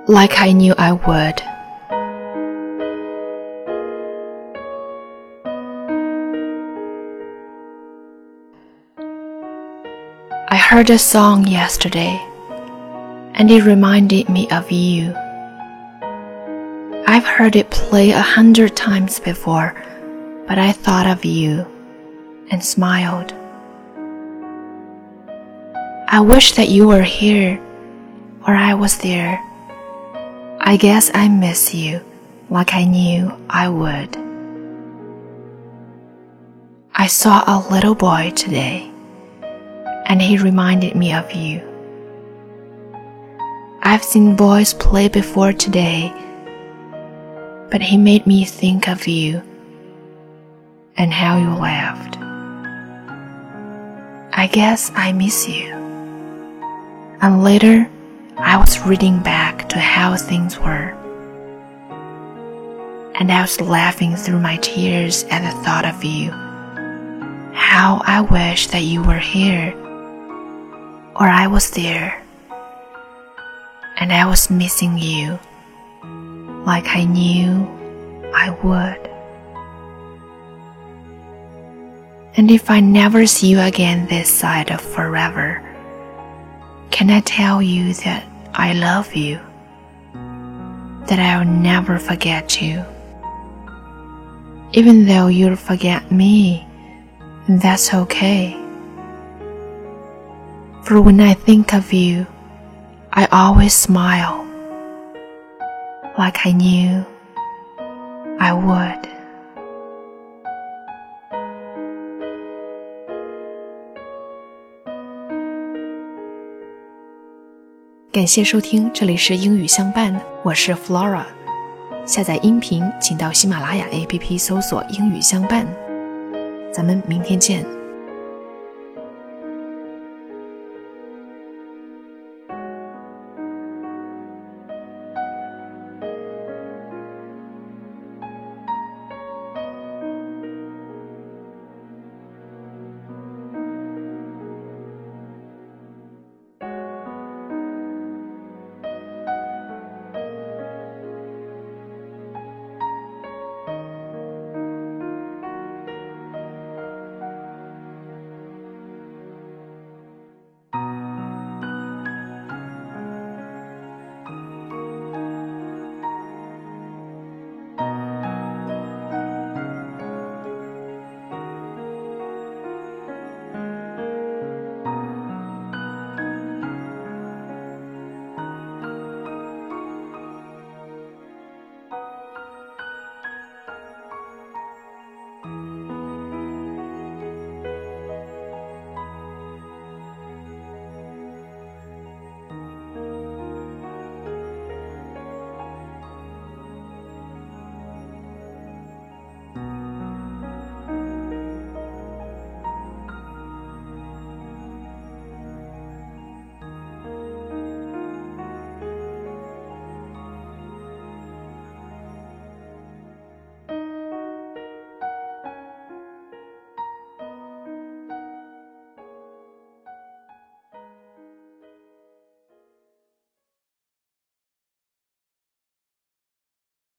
like I knew I would. I heard a song yesterday, and it reminded me of you. I've heard it play 100 times before, but I thought of you and smiled. I wish that you were here, or I was there. I guess I miss you like I knew I would. I saw a little boy today, and he reminded me of you. I've seen boys play before today, but he made me think of you and how you laughed. I guess I miss you. And later, I was reading back to how things were, and I was laughing through my tears at the thought of you. How I wish that you were here, or I was there, and I was missing you like I knew I would. And if I never see you again this side of forever, can I tell you that I love you, that I'll never forget you? Even though you'll forget me, that's okay. For when I think of you, I always smile, like I knew I would. 感谢收听，这里是英语相伴，我是 Flora。下载音频请到喜马拉雅 APP 搜索英语相伴。咱们明天见。